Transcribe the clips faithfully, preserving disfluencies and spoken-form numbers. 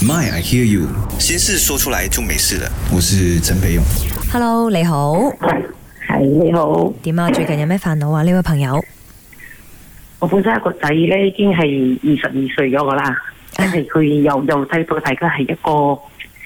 My I hear you， 心事說出來就沒事了。我是陳培勇。 Hello， 你好。 係你好。 點啊？最近有咩煩惱啊？呢位朋友。 我本身一個仔咧，已經係二十二歲咗噶啦，即係佢由由細到大家係一個誒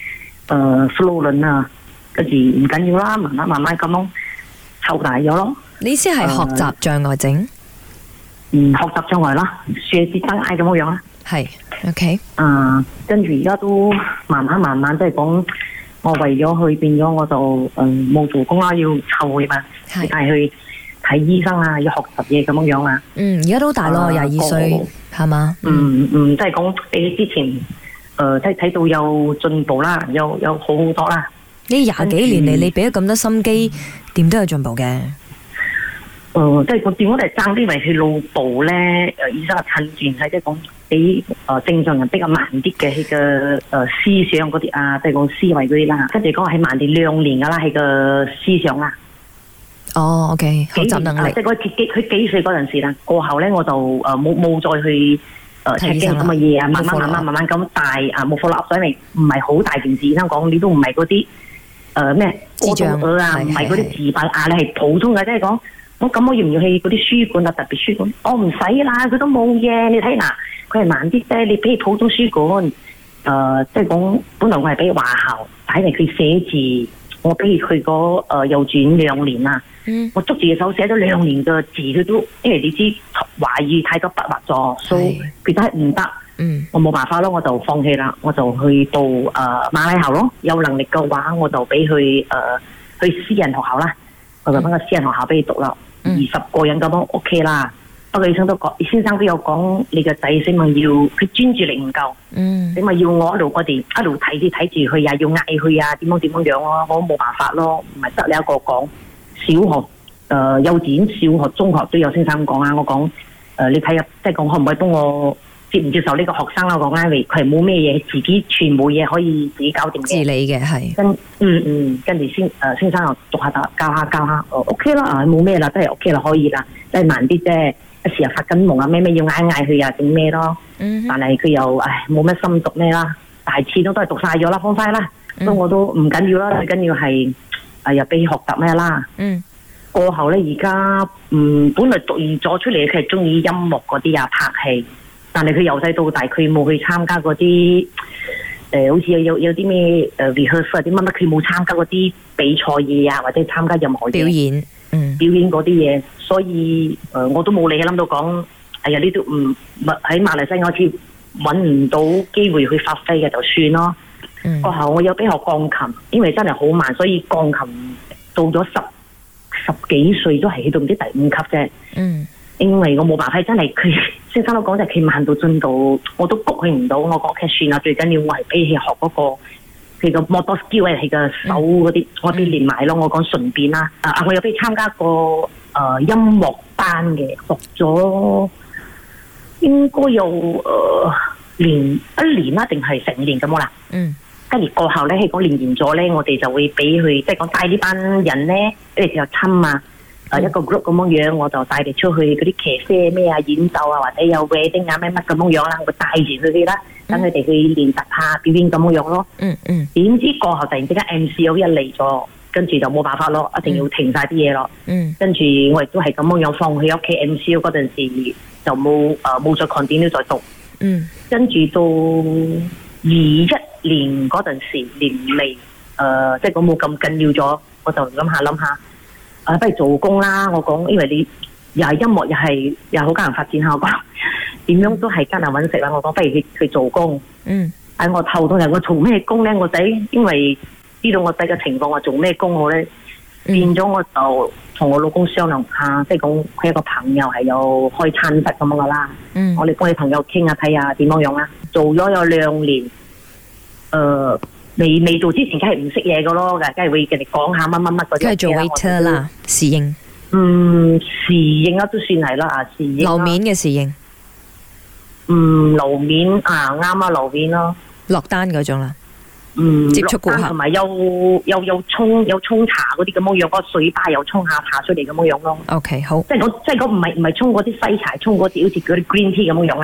flow 輪啊，跟住唔緊要啦，慢慢慢慢咁樣湊大咗咯。 你意思係學習障礙症？ 嗯，學習障礙啦，學習障礙咁樣樣啦。 係 ，OK。 啊，跟住而家都慢慢慢慢即係講，我為咗佢變咗，我就誒冇做工啦，要湊佢嘛，帶去睇醫生啊，要學習嘢咁樣樣啊。 嗯，而家都大咯，廿二歲係嘛？ 嗯嗯，即係講比之前誒，即係睇到有進步啦，有有好好多啦。 呢廿幾年嚟，你俾咗咁多心機，點都有進步嘅。 誒，即係我點講嚟爭啲，為佢腦部咧，誒醫生係診斷係即係講比誒正常人比較慢啲嘅，佢嘅誒思想嗰啲啊，即係講思維嗰啲啦，跟住講係慢啲兩年噶啦，係個思想啊。 哦 ，OK， 學習能力。 即係佢幾佢幾歲嗰陣時啦，過後咧我就誒冇冇再去誒 check 經咁嘅嘢啊，慢慢慢慢慢慢咁大啊，冇貨立水嚟，唔係好大件事。醫生講你都唔係嗰啲誒咩智障啊，唔係嗰啲自閉啊，你係普通嘅，即係講。我咁我要唔要去嗰啲書館啊？特別書館，我唔使啦，佢都冇嘢。你睇嗱，佢係慢啲啫。你俾普通書館，誒、呃，即係講本來我係俾華校，睇嚟佢寫字，我俾佢去嗰誒幼稚園兩年啦。嗯，我捉住隻手寫咗兩年嘅字，佢都因為你知華語太多筆畫咗，所以佢都係唔得。嗯，我冇辦法咯，我就放棄啦，我就去到誒、呃、馬來校咯。有能力嘅話，我就俾佢誒去私人學校啦。我就揾個私人學校俾佢讀啦。二十個人咁樣 OK 啦，不過醫生都講，先生都有講，你個仔死咪要佢專注力唔夠，嗯，你咪要我一路我哋一路睇住睇住佢啊，要嗌佢啊，點樣點樣樣咯，我冇辦法咯，唔係得你一個講。小學誒、呃、幼稚園、小學、中學都有先生講啊，我講誒、呃、你睇下，即係講可唔可以幫我接唔接受呢個學生啦？我講啱，佢係冇咩嘢，自己全部嘢可以自己搞掂嘅， 自理嘅係。 跟嗯嗯，跟住先誒先生又讀下教下教下，哦 OK 啦，啊冇咩啦，都係 OK 啦，可以啦，即係慢啲啫。一時又發緊夢啊，咩咩要嗌嗌佢啊，整咩咯？嗯、但係佢又唉冇乜心讀咩啦，大次都都係讀晒咗啦，方塊啦，所以、嗯、我都唔緊要啦，最緊要係誒又俾學習咩啦。嗯。過後咧，而家嗯本來讀完咗出嚟，佢係中意音樂嗰啲啊，拍戲。但係佢由細到大，佢冇去參加嗰啲誒，好似有有有啲咩誒 rehearsal 啲乜乜，佢冇參加嗰啲比賽嘢啊，或者參加任何表演，嗯， 表演嗰啲嘢，所以誒、呃、我都冇理，諗到講，哎呀呢度唔喺馬來西亞好似揾唔到機會去發揮嘅，就算咯。嗯，過後我有俾學鋼琴，因為真係好慢，所以鋼琴到咗十十幾歲都係去到唔知第五級啫。嗯。因為我冇辦法，真係佢先生都講就係佢慢到進度，我都谷佢唔到。我講嘅算啦，最緊要我係俾佢學嗰個佢個 motor skill 係佢嘅手嗰啲，我俾練埋咯。我講順便啦，啊我有俾佢參加過誒音樂班嘅，學咗應該有誒年一年啦，定係成年咁啦。嗯，跟住過後咧，佢講練完咗咧，我哋就會俾佢即係講帶呢班人咧，跟住就親啊。誒一個 group 咁樣樣，我就帶你出去嗰啲騎車咩啊演奏啊，或者有 wedding 啊咩乜咁樣樣啦，我帶住佢哋啦，等佢哋去練習下表演咁樣樣咯。嗯嗯。點知過後突然之間 M C O 一嚟咗，跟住就冇辦法咯，一定要停晒啲嘢咯。嗯。跟住我亦都係咁樣樣放棄屋企 M C O 嗰陣時，就冇誒冇再 continue 再讀。嗯。跟住到二一年嗰陣時年尾，誒即係講冇咁緊要咗，我就諗下諗下。啊，不如做工啦！我講，因為你又係音樂，又係又好艱難發展下，我講點樣都係艱難揾食啦。我講，不如去去做工。嗯，喺我頭痛日，我做咩工咧？我仔因為知道我仔嘅情況，我做咩工好咧？嗯、變咗我就同我老公商量下，即係講佢一個朋友係有開餐室咁樣噶啦。嗯，我哋幫你朋友傾下睇下點樣樣啦。做咗有兩年，誒、呃。未未做之前，梗係唔識嘢噶咯，梗係會人哋講下乜乜乜嗰啲。梗係做 waiter 啦，侍應。 嗯，侍應啊，都算係啦啊，侍應。 樓面嘅侍應。 嗯，樓面啊，啱啊，樓面咯。 落單嗰種啦。 嗯， 接觸顧客。 同埋有有有沖有沖茶嗰啲咁樣樣，個水吧又沖下茶出嚟咁樣樣咯。 OK， 好。 即係我即係我唔係唔係沖嗰啲西茶，沖嗰啲好似嗰啲 green tea 咁樣樣啊。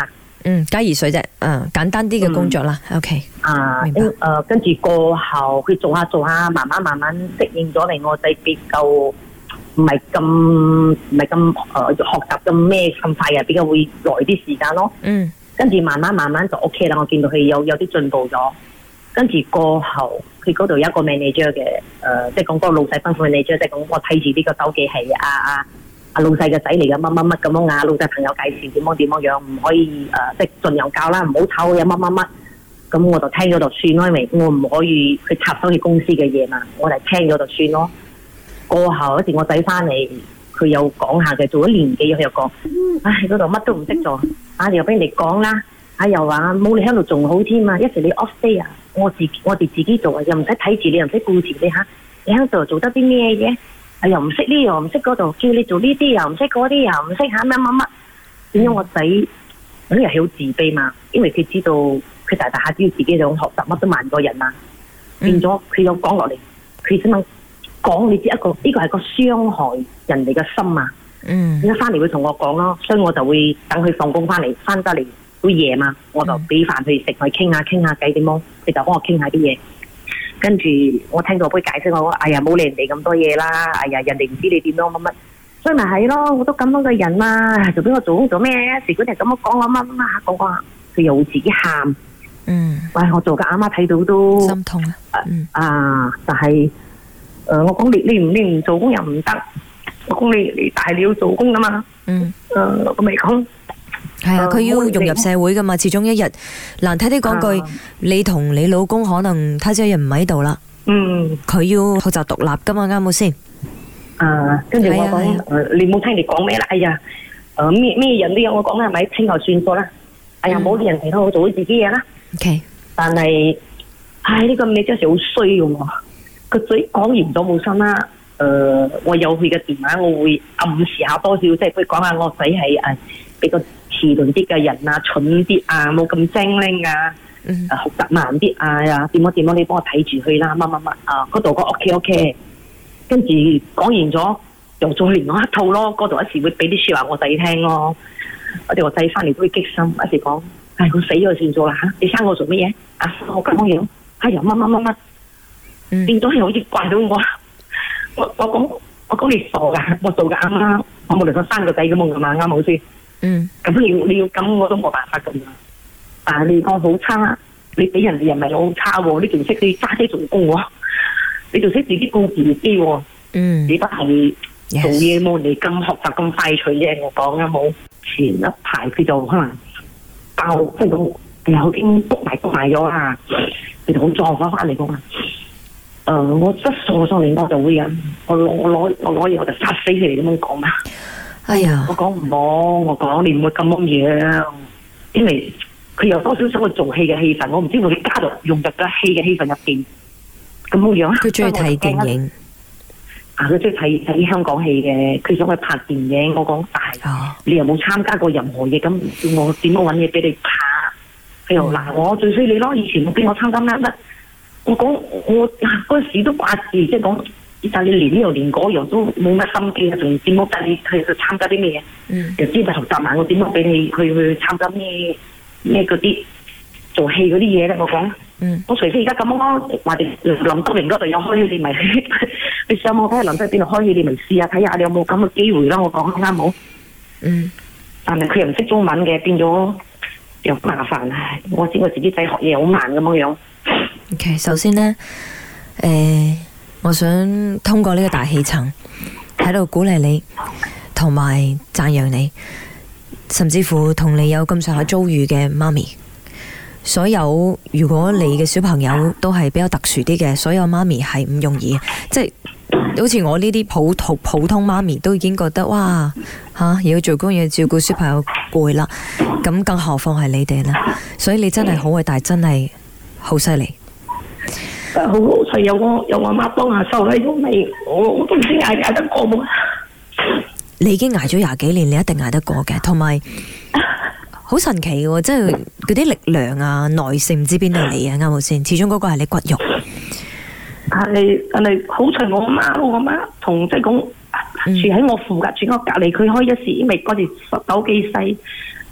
嗯，加熱水啫，嗯，簡單啲嘅工作啦。 嗯、 OK， 啊， 明白。 誒、呃，跟住過後佢做下做下，慢慢慢慢適應咗嚟，我仔比較唔係咁唔係咁誒學習咁咩咁快嘅，比較會耐啲時間咯。 嗯， 跟住慢慢慢慢就 OK 啦，我見到佢有有啲進步咗。跟住過後，佢嗰度有一個 manager 嘅，誒、呃，即係講嗰個老細吩咐 manager，即係講我睇住呢個手機係啊啊啊老細嘅仔嚟嘅，乜乜乜咁樣啊，老細朋友介紹點樣點樣樣，唔可以誒、呃，即係盡量教啦，唔好炒有乜乜乜。咁我就聽咗就算咯，因為我唔可以去插手去公司嘅嘢嘛，我就聽咗就算咯。過後嗰時我仔翻嚟，佢又講下嘅，做咗年幾佢又講，唉嗰度乜都唔識做，啊又俾人哋講啦，啊又話冇你喺度仲好添啊，一時你 off day 啊。我自我哋自己做啊，又唔使睇住你，又唔使顧住你嚇。你喺度做得啲咩嘢？啊又唔識呢，又唔識嗰度，叫你做呢啲又唔識嗰啲，又唔識嚇乜乜乜。點解我仔嗰啲人係好自卑嘛？因為佢知道佢大大下知道自己想學習乜都慢過人嘛，變咗佢又講落嚟，佢點樣講？你知一個呢、呢個係個傷害人哋嘅心啊！嗯，一翻嚟會同我講咯，所以我就會等佢放工翻嚟，翻得嚟。好夜嘛，我就俾飯佢食，去傾下傾下偈點樣，佢就幫我傾下啲嘢。跟住我聽到佢解釋我話：哎呀，冇理人哋咁多嘢啦！哎呀，人哋唔知你點樣乜乜，所以咪係咯，我都咁樣嘅人啦，就俾我做工做咩？時嗰日咁樣講我乜乜乜講講，佢又會自己喊。嗯，喂，我做嘅阿媽睇到都心痛啊！嗯、 啊，但係誒、呃，我講你你唔你唔做工又唔得，我講你你大你要做工噶嘛。嗯，誒、呃，我咪講。 係啊，佢要融入社會噶嘛，始終一日難聽啲講句，啊、你同你老公可能他朝一日唔喺度啦。嗯，佢要學習獨立噶嘛，啱冇先？ 啊，跟住我講，誒、啊呃，你冇聽你講咩啦？哎呀，誒咩咩人都有我講啦，係咪？聽就算數啦。哎呀，冇啲、嗯、人其他我做咗自己嘢啦。OK，但係，唉，呢、這個你真係好衰嘅喎。個嘴講完咗冇心啦。誒、呃，我有佢嘅電話，我會暗示下多少，即係佢講下我仔係誒比較遲鈍啲嘅人啊，蠢啲啊，冇咁精靈啊，嗯、學習慢啲啊，點樣點樣，你幫我睇住佢啦，乜乜乜啊，嗰度個 OK OK， 跟住講完咗，又再另外一套咯，嗰度一時會俾啲説話我仔聽咯，我哋個仔翻嚟都會激心，一時講，唉，我死咗算數啦嚇，你生我做乜嘢？啊，我咁樣，哎呀乜乜乜乜，變咗係好似怪到我。我我講我講你傻噶，我做噶啱啱，我冇理由生個仔咁啊嘛，啱冇先。嗯。咁你要你要咁，我都冇辦法咁啊。但係你講好差，你俾人哋又唔係好差喎，你仲識你揸車做工喎，你仲識自己顧自己喎。嗯。你不係做嘢冇人哋咁學習咁快脆啫，我講啊冇。前一排佢就可能爆即係咁，又已經篤埋篤埋咗啊！佢就好撞翻翻嚟噶嘛。誒、呃，我一傻上嚟我就會啊！我攞我攞我攞嘢我就殺死佢哋咁樣講嘛。哎呀！我講唔好，我講你唔會咁樣，因為佢有多少想去做戲嘅氣氛，我唔知會佢加入融入嘅戲嘅氣氛入邊咁樣。佢中意睇電影啊！佢中意睇睇香港戲嘅，佢想去拍電影。我講但係、哦、你又冇參加過任何嘢，咁叫我點樣揾嘢俾你拍？佢又嗱，我最衰你咯，以前我俾我參加乜乜。我講我嗰陣時都掛住，即係講，但係你連呢樣連嗰樣都冇乜心機啊，仲點樣帶你去去參加啲咩嘢？嗯，又知咪學習埋，我點樣俾你去去參加咩咩嗰啲做戲嗰啲嘢咧？我講，嗯，我除非而家咁咯，話哋林德榮嗰度有開，你咪你上網睇下林德邊度開，你咪試下睇下，你有冇咁嘅機會啦？我講啱冇？嗯，但係佢又唔識中文嘅，變咗又麻煩啊！我知我自己仔學嘢好慢咁樣樣。 OK， 首先呢，誒、呃，我想通過呢個大氣層喺度鼓勵你，同埋讚揚你，甚至乎同你有咁上下遭遇嘅媽咪。所有如果你嘅小朋友都係比較特殊啲嘅，所有媽咪係唔容易，即係好似我呢啲普通普通媽咪都已經覺得哇吓，要做工要照顧小朋友攰啦，咁更何況係你哋啦。所以你真係好偉大，真係好犀利。 好老實，有我有我媽幫下手喺度未？我我都唔知捱捱得過冇。 你已經捱咗廿幾年，你一定捱得過嘅。同埋好神奇嘅，即係嗰啲力量啊、耐性唔知邊度嚟啊，啱冇先？始終嗰個係你骨肉。 係，但係好彩我媽，我媽同即係講住喺我附近，住我隔離，佢開一時，因為嗰時手機細，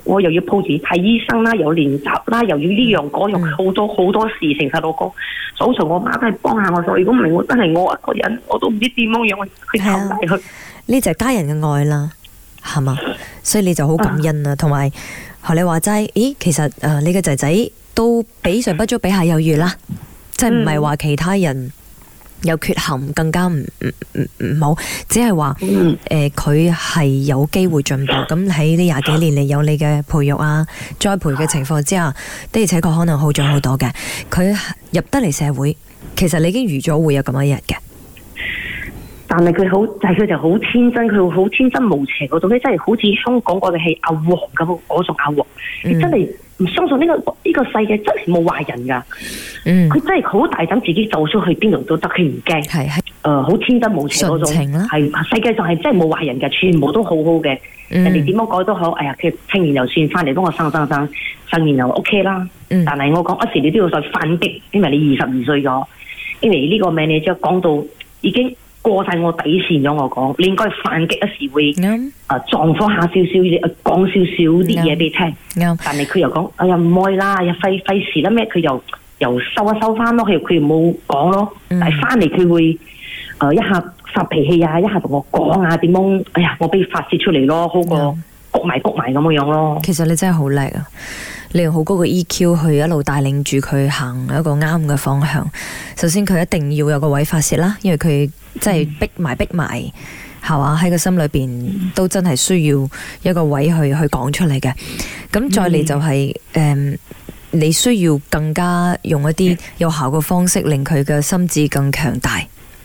我又要抱住睇醫生啦，又練習啦，又要呢樣嗰樣，好多好多事情細路哥。早上我媽都係幫下我手，如果唔係我真係我一個人，我都唔知點樣樣去湊大佢。 呢就係家人嘅愛啦，係嘛？所以你就好感恩啊，同埋學你話齋，咦，其實誒、呃、你嘅仔仔都比上不足，比下有餘啦，即係唔係話其他人有缺陷更加唔唔唔唔好，只係話誒佢係有機會進步。咁喺呢廿幾年嚟有你嘅培育啊、栽培嘅情況之下，的而且確可能好咗好多嘅。佢入得嚟社會，其實你已經預咗會有咁一日嘅。 但係佢好，但係佢就好天真，佢好天真無邪嗰種咧，真係好似香港嗰個係阿黃咁，我做阿黃，你、嗯、真係唔相信呢、這個呢、這個世界真係冇壞人噶。嗯，佢真係好大膽，自己走出去邊度都得，佢唔驚。係係，誒，好、呃、天真無邪嗰種，係世界上係真係冇壞人嘅，全部都好好嘅。嗯、人哋點樣改都好，哎呀，佢聽完就算，翻嚟幫我生生生，生完就 OK 啦。嗯、但係我講一時你都要再反擊，因為你二十二歲咗，因為呢個名你即係講到已經。過晒我底線咗，我講你應該反擊一時會，誒、嗯呃、撞火下少少，誒講少少啲嘢俾你聽。嗯、但係佢又講，哎呀唔愛啦，哎呀費費事啦咩？佢又又收一收翻咯，佢佢又冇講咯。嗯、但係翻嚟佢會誒、呃、一下發脾氣啊，一下同我講啊，點樣？哎呀，我俾佢發泄出嚟咯，好過谷埋谷埋咁樣樣咯。 其實你真係好叻啊！你用好高嘅 E Q 去一路帶領住佢行一個啱嘅方向。首先佢一定要有個位發泄啦，因為佢真係逼埋逼埋，係嘛？喺個心裏邊都真係需要一個位去去講出嚟嘅。咁再嚟就係、是、誒、嗯，你需要更加用一啲有效嘅方式，令佢嘅心智更強大。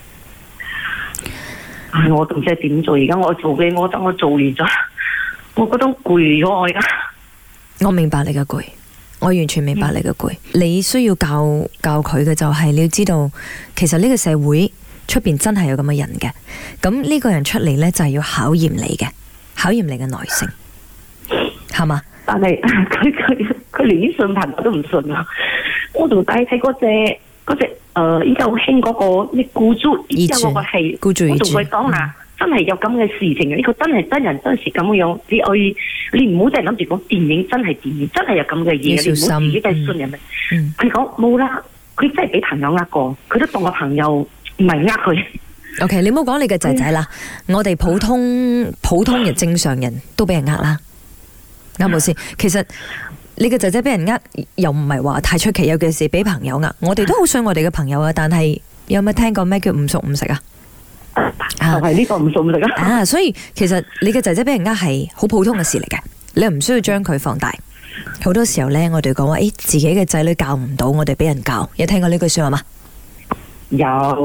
唉，我都唔知點做。而家我做嘅，我覺得我做完咗，我覺得攰咗。我而家。 我明白你嘅攰，我完全明白你嘅攰。嗯、你需要教教佢嘅就係你要知道，其實呢個社會出邊真係有咁嘅人嘅。咁呢個人出嚟呢，就係要考驗你嘅，考驗你嘅耐性，係嘛？ 但係佢佢佢連啲信頻我都唔信啊！我仲帶睇嗰隻嗰隻誒，依家好興嗰個咩孤注，依家嗰個係孤注一擲，我同佢講啦。嗯真係有咁嘅事情嘅，呢、這個真係真人真事咁樣。你愛你唔好淨係諗住講電影，真係電影，真係有咁嘅嘢。你唔好自己都係信人哋。佢講冇啦，佢真係俾朋友呃過，佢都當個朋友，唔係呃佢。 O K， 你唔好講你嘅仔仔啦，嗯、我哋普通普通嘅正常人都俾人呃啦，啱冇先？其實你嘅仔仔俾人呃，又唔係話太出奇，尤其是俾朋友呃。我哋都好信我哋嘅朋友啊，但係有冇聽過咩叫唔熟唔食啊？ 就係呢個唔熟唔食啊！ 啊，所以其實你嘅仔仔俾人呃係好普通嘅事嚟嘅，你又唔需要將佢放大。好多時候呢，我哋講話誒，自己嘅仔女教唔到，我哋俾人教。有聽過呢句說話嗎？ 有。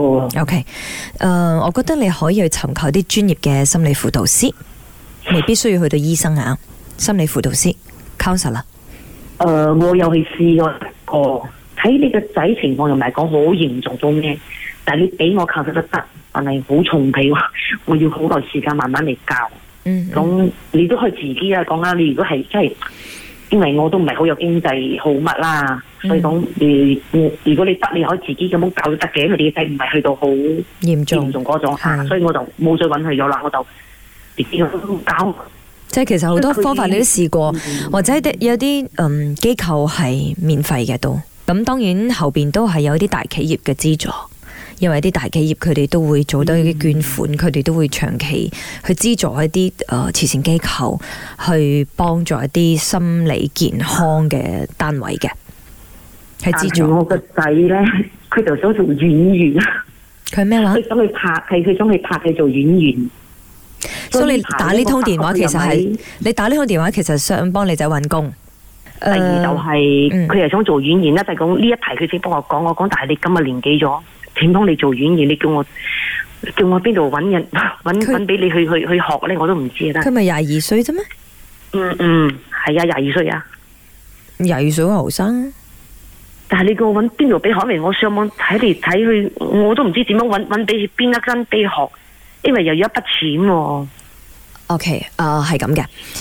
O K，誒，我覺得你可以去尋求啲專業嘅心理輔導師，未必需要去到醫生啊。心理輔導師 counselor 啦。 誒、呃，我又去試過過，睇你個仔情況又唔係講好嚴重到咩，但係你俾我靠得得。但係好重皮喎，我要好耐時間慢慢嚟教。嗯，咁、嗯、你都可以自己啊講啦。你如果係真係，因為我都唔係好有經濟好乜啦，嗯、所以講你如果你得，你可以自己咁樣教都得嘅。因為你嘅仔唔係去到好嚴重嚴重嗰種，所以我就冇再揾佢咗啦。我就自己咁教。 即係其實好多方法你都試過，嗯、或者有啲嗯機構係免費嘅都。咁當然後邊都係有啲大企業嘅資助。因為啲大企業佢哋都會做到一啲捐款，佢哋、嗯、都會長期去資助一啲誒、呃、慈善機構，去幫助一啲心理健康嘅單位嘅。係資助。 我個仔咧，佢就想做演員。 佢咩話？ 佢想去拍戲，佢想去拍戲做演員。 所以你打呢通電話其實係你打呢通電話其實想幫你仔揾工。 第二就係佢又想做演員啦，就係講呢一題佢先幫我講，我講但係你今日年紀咗。請幫你做演員，你叫我叫我邊度揾人揾揾俾你去去去學咧，我都唔知啊！ 佢咪廿二歲啫咩？ 嗯嗯，係啊，廿二歲啊， 廿二歲好後生。 但係你叫我揾邊度俾學嚟？我上網睇嚟睇去，我都唔知點樣揾揾俾邊一間俾學，因為又有一筆錢喎。 OK，誒係咁嘅。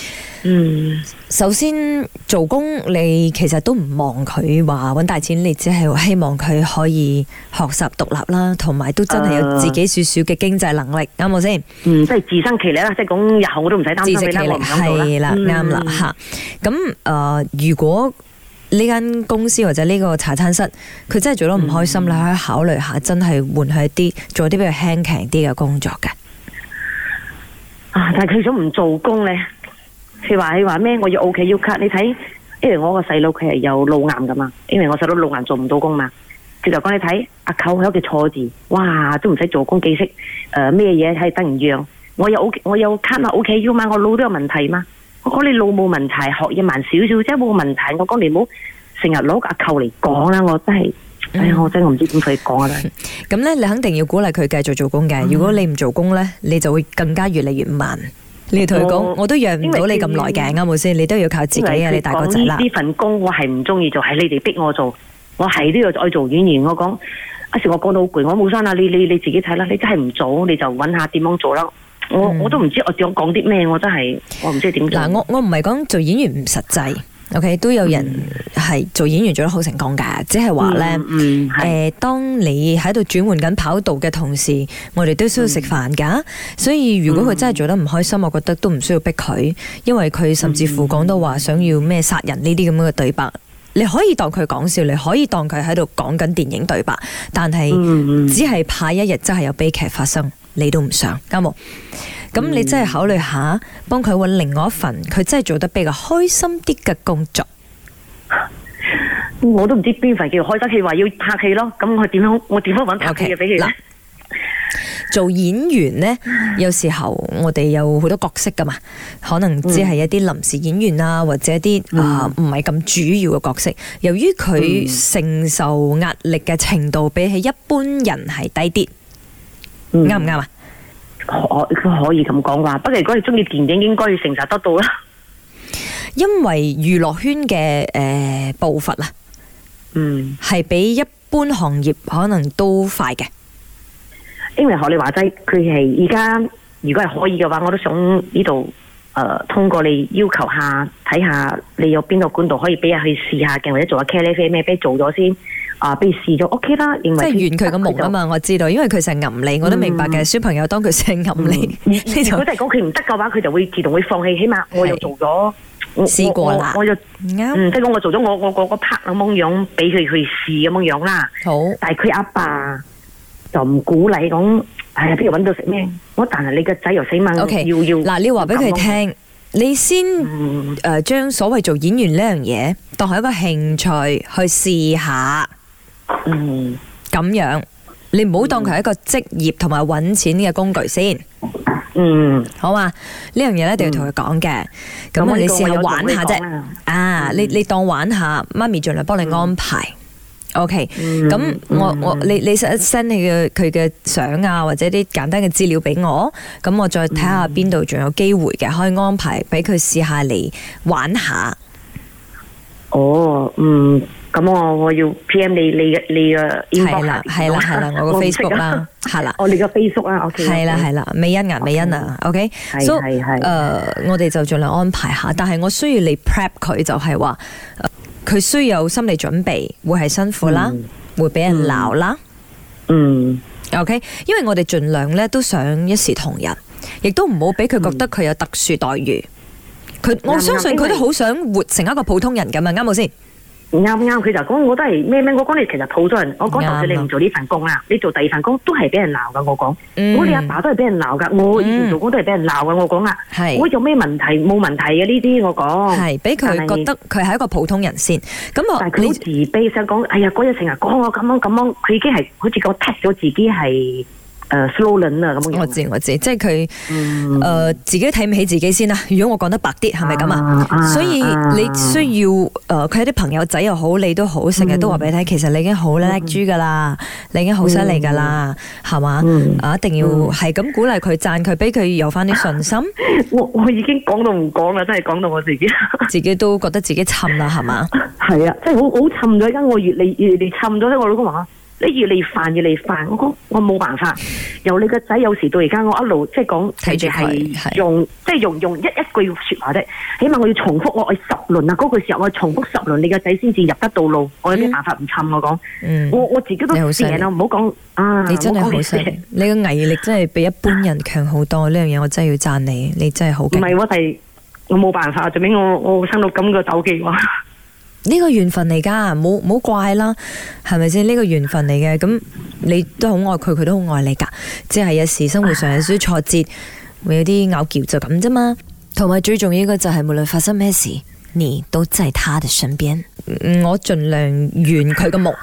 嗯， 首先做工你其實都唔望佢話揾大錢，你只係希望佢可以學習獨立啦，同埋都真係有自己少少嘅經濟能力，啱冇先？ 嗯，即係自生其力啦，即係講日後我都唔使擔心你啦，我唔想做啦。 係啦，啱啦吓。咁誒，如果呢間公司或者呢個茶餐室佢真係做得唔開心，嗯、你可以考慮下真係換去一啲做啲比較輕強啲嘅工作嘅。 啊！但係佢想唔做工咧，佢話佢話咩？我要 O K 要 cut。你睇，因為我個細佬佢係有腦癌噶嘛，因為我細佬腦癌做唔到工嘛。佢就講你睇，阿舅喺屋企坐住，哇，都唔使做工幾識誒咩嘢係得唔樣？我有 O 我有 cut 啊 O K 要嘛，我腦都有問題嘛。我講你腦冇問題，學嘢慢少少，即係冇問題。我講你唔好成日攞阿舅嚟講啦，我真係。哎呀，我真係唔知點同佢講啊！ 咁咧，你肯定要鼓勵佢繼續做工嘅。如果你唔做工咧，你就會更加越嚟越慢。你要同佢講，我都養唔到你咁耐嘅，啱冇先？你都要靠自己啊！你大個仔啦。呢份工我係唔中意做，係你哋逼我做，我係都要再做演員。我講一時我講到好攰，我冇生啦，你你你自己睇啦。你真係唔做，你就揾下點樣做啦。我我都唔知我想講啲咩，我真係我唔知點做。嗱， 我我唔係講做演員唔實際。OK， 都有人係做演員做得好成功㗎，即係話咧，誒、嗯嗯呃，當你喺度轉換緊跑道嘅同時，我哋都需要食飯㗎，嗯、所以如果佢真係做得唔開心，我覺得都唔需要逼佢，因為佢甚至乎講到話想要咩殺人呢啲咁嘅對白，你可以當佢講笑，你可以當佢喺度講緊電影對白，但係只係怕一日真係有悲劇發生，你都唔想，啱冇？咁你真係考慮下，幫佢揾另外一份，佢真係做得比較開心啲嘅工作。 我都唔知邊份叫開心，佢話要拍戲咯。咁我點樣？我點樣揾拍戲嘅俾佢咧？ 做演員呢，有時候我哋有好多角色噶嘛，可能只係一啲臨時演員啊，或者一啲啊唔係咁主要嘅角色。由於佢承受壓力嘅程度比起一般人係低啲，啱唔啱啊？ 可可以咁講話，不過如果你中意電影，應該要承受得到啦。 因為娛樂圈嘅誒、呃、步伐啊，嗯，係比一般行業可能都快嘅。 因為學你話齋，佢係而家如果係可以嘅話，我都想呢度誒通過你要求下，睇下你有邊個管道可以俾人去試下嘅，或者做下茄喱啡咩，俾做咗先。啊！被試咗 OK 啦，認為即係圓佢個夢啊嘛，我知道，因為佢成日揞你，我都明白嘅。小朋友當佢成日揞你， 如果真係講佢唔得嘅話，佢就會自動會放棄。起碼我又做咗， 試過啦， 我就嗯，即係講我做咗我我個個 part 咁樣樣，俾佢去試咁樣樣啦。好，但係佢阿爸就唔鼓勵講，哎呀，邊度揾到食咩？我但係你個仔又死猛，要要嗱，你話俾佢聽，你先誒將所謂做演員呢樣嘢當係一個興趣去試下。嗯，咁樣你唔好當佢係一個職業同埋搵錢嘅工具先。嗯，好嘛，呢樣嘢咧一定要同佢講嘅。咁、嗯、你試下玩下啫。啊，嗯、你你當玩下，媽咪盡量幫你安排。嗯、OK，咁、嗯、我我你你 send 你嘅佢嘅相啊，或者啲簡單嘅資料俾我，咁我再睇下邊度仲有機會嘅，可以安排俾佢試下嚟玩下。哦，嗯。咁我我要 P M 你你嘅你嘅 inbox 啦，係啦係啦，我個 Facebook 啦，係啦，哦你個 Facebook 啦 ，OK，係啦係啦，美欣啊美欣啊 ，OK，所以誒我哋就盡量安排下，但係我需要你 prep 佢，就係話佢需要有心理準備，會係辛苦啦，會俾人鬧啦，嗯 ，OK，因為我哋盡量咧都想一視同仁，亦都唔好俾佢覺得佢有特殊待遇，佢我相信佢都好想活成一個普通人咁啊，啱冇先？啱啱，佢就講我都係咩咩，我講你其實普通人，我講就算你唔做呢份工啦，你做第二份工都係俾人鬧噶，我講，我哋阿爸都係俾人鬧噶，我以前做工都係俾人鬧噶，我講啊，我有咩問題冇問題嘅呢啲，我講係俾佢覺得佢係一個普通人先，咁我但係佢好自卑，想講，哎呀嗰日成日講我咁樣咁樣，佢已經係好似講踢咗自己係。誒 slogan 啊咁樣，我知我知，即係佢誒自己睇唔起自己先啦。如果我講得白啲，係咪咁啊？所以你需要誒佢啲朋友仔又好，你都好，成日都話俾你聽，其實你已經好叻豬噶啦，你已經好犀利噶啦，係嘛？啊，一定要係咁鼓勵佢，讚佢，俾佢有翻啲信心。我我已經講到唔講啦，真係講到我自己，自己都覺得自己沉啦，係嘛？係啊，即係好好沉咗，而家我越嚟越嚟沉咗咧。我老公話： 你越嚟煩越嚟煩，我講我冇辦法。由你個仔有時到而家，我一路即係講，佢哋係用即係用用一一句説話啫，起碼我要重複我我十輪啊，嗰句時候我重複十輪，你個仔先至入得到路。我有咩辦法唔氹我講？嗯、我我自己都成啦，唔好講啊！ 你真係好犀利，你個毅力真係比一般人強好多。呢樣嘢我真係要讚你，你真係好勁。唔係我係我冇辦法，最尾我我生到咁個手機喎。 呢個緣分嚟噶，冇冇怪啦，係咪先？呢個緣分嚟嘅，咁你都好愛佢，佢都好愛你噶。只係有時生活上有少少挫折，會有啲拗撬就咁啫嘛。同埋最重要嘅就係無論發生咩事，你都在他的身邊。我盡量圓佢個夢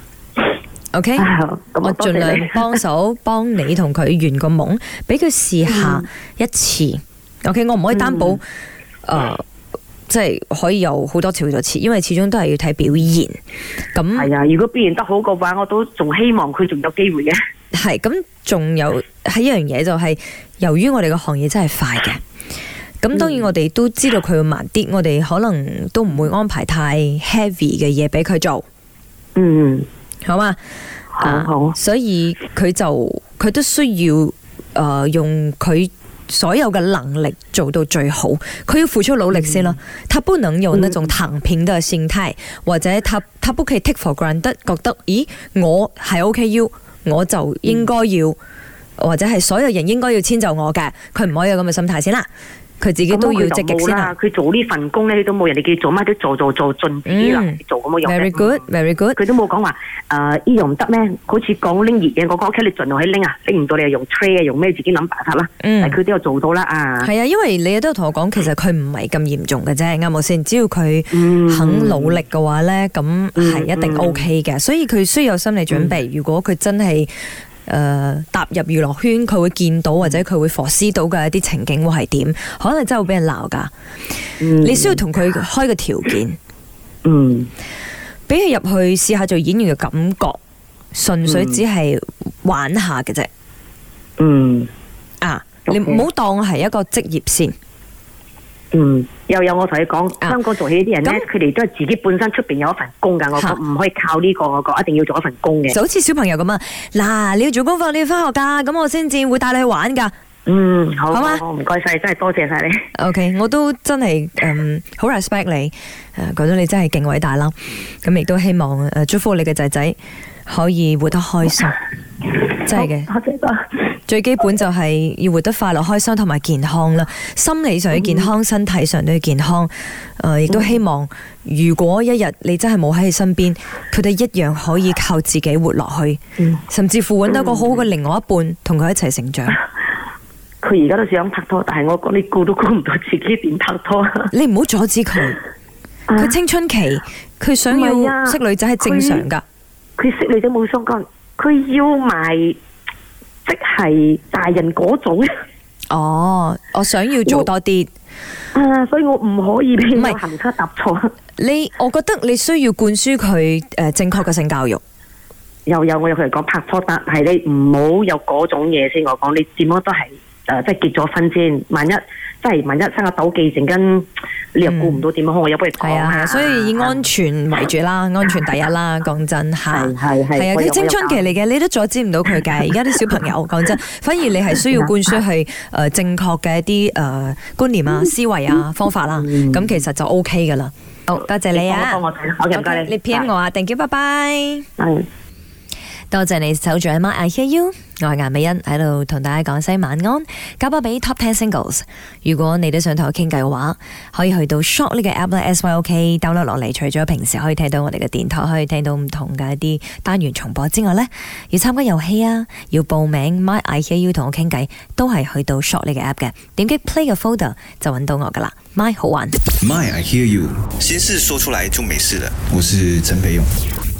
，OK？我盡量幫手幫你同佢圓個夢，俾佢試下一次。嗯、OK？我唔可以擔保，誒、嗯。呃即係可以有好多次好多次，因為始終都係要睇表現。咁係啊，如果表現得好嘅話，我都仲希望佢仲有機會嘅。 係咁，仲有係一樣嘢就係、是，由於我哋個行業真係快嘅，咁當然我哋都知道佢會慢啲，我哋可能都唔會安排太 heavy 嘅嘢俾佢做。嗯，好嘛， 好好。 Uh, 所以佢就佢都需要誒、呃、用佢所有嘅能力做到最好，佢要付出努力先啦。嗯、他不能有那種躺平的心態，嗯、或者他他不可以 take for granted，覺得咦我係 OK U，我就應該要，嗯、或者係所有人應該要遷就我嘅，佢唔可以有咁嘅心態先啦。佢自己都要積極先啦。 佢做呢份工咧，都冇人哋叫做乜都做做做盡自己能力做咁樣。 Very good，very good。 佢都冇講話誒呢樣唔得咩？好似講拎熱嘢，我講 OK，你盡量去拎啊，拎唔到你又用 tray 啊，用咩自己諗辦法啦。嗯，但係佢都有做到啦啊。 係啊，因為你都同我講，其實佢唔係咁嚴重嘅啫，啱冇先？只要佢肯努力嘅話咧，咁係一定 OK 嘅。所以佢需要有心理準備。如果佢真係誒、呃，踏入娛樂圈，佢會見到或者佢會 foresee 到嘅一啲情景會係點？可能真係會俾人鬧噶。嗯、你需要同佢開個條件，嗯，俾佢入去試下做演員嘅感覺，純粹只係玩下嘅啫。嗯，啊，你唔好當係一個職業先。 嗯，又有我同你講，香港做戲啲人咧，佢哋、啊、都係自己本身出邊有一份工噶，我講唔可以靠呢、這個，我講一定要做一份工嘅。 就好似小朋友咁啊，嗱，你要做功課，你要翻學噶，咁我先至會帶你去玩噶。 嗯，好， 好嘛， 唔該晒，真係多謝晒你。 OK， 我都真係嗯好 respect 你，誒、呃，覺得你真係勁偉大啦。咁亦都希望誒、呃、祝福你嘅仔仔可以活得開心，真係嘅。多謝多。最基本就係要活得快樂、開心同埋健康啦。心理上要健康，嗯、身體上都要健康。誒、呃，亦都希望如果一日你真係冇喺佢身邊，佢哋一樣可以靠自己活落去，嗯、甚至乎揾到一個好好嘅另外一半，同佢一齊成長。 佢而家都想拍拖，但係我講你估都估唔到自己點拍拖。 你唔好阻止佢，佢青春期，佢想要識女仔係正常噶。 佢識女仔冇相干，佢要埋。即係大人嗰種。 哦，我想要做多啲。 啊，所以我唔可以俾佢行差踏錯。 你，我覺得你需要灌輸佢誒正確嘅性教育。 又有我有佢嚟講拍拖，但係你唔好有嗰種嘢先。我講你點樣都係誒、呃，即係結咗婚先。萬一即係萬一生個鬥記，陣間你又顧唔到點樣，嗯、我有不如講啊。 所以以安全為主啦，安全第一啦。講真吓，係係係啊，佢青春期嚟嘅，你都阻止唔到佢嘅。而家啲小朋友講真，反而你係需要灌輸係誒正確嘅一啲誒、呃、觀念啊、思維啊、方法啦。咁、嗯、其實就 O K 噶啦。好多謝你啊！ 我我唔該你， 你 P M 我啊 ，thank you，拜拜。 嗯。 多謝你守住阿媽 I hear you， 我係顏美欣喺度同大家講聲晚安，交波俾 Top Ten Singles。如果你都想同我傾偈嘅話，可以去到 Shop 呢個 app 咧 ，S Y O K download 落嚟。除咗平時可以聽到我哋嘅電台，可以聽到唔同嘅一啲單元重播之外呢，要參加遊戲啊，要報名 My I hear you 同我傾偈，都係去到 Shop 呢個 app 嘅。點擊 Play 嘅 folder 就揾到我噶啦 ，My 好玩。 My I hear you，心事說出來就沒事了。我是陳培勇。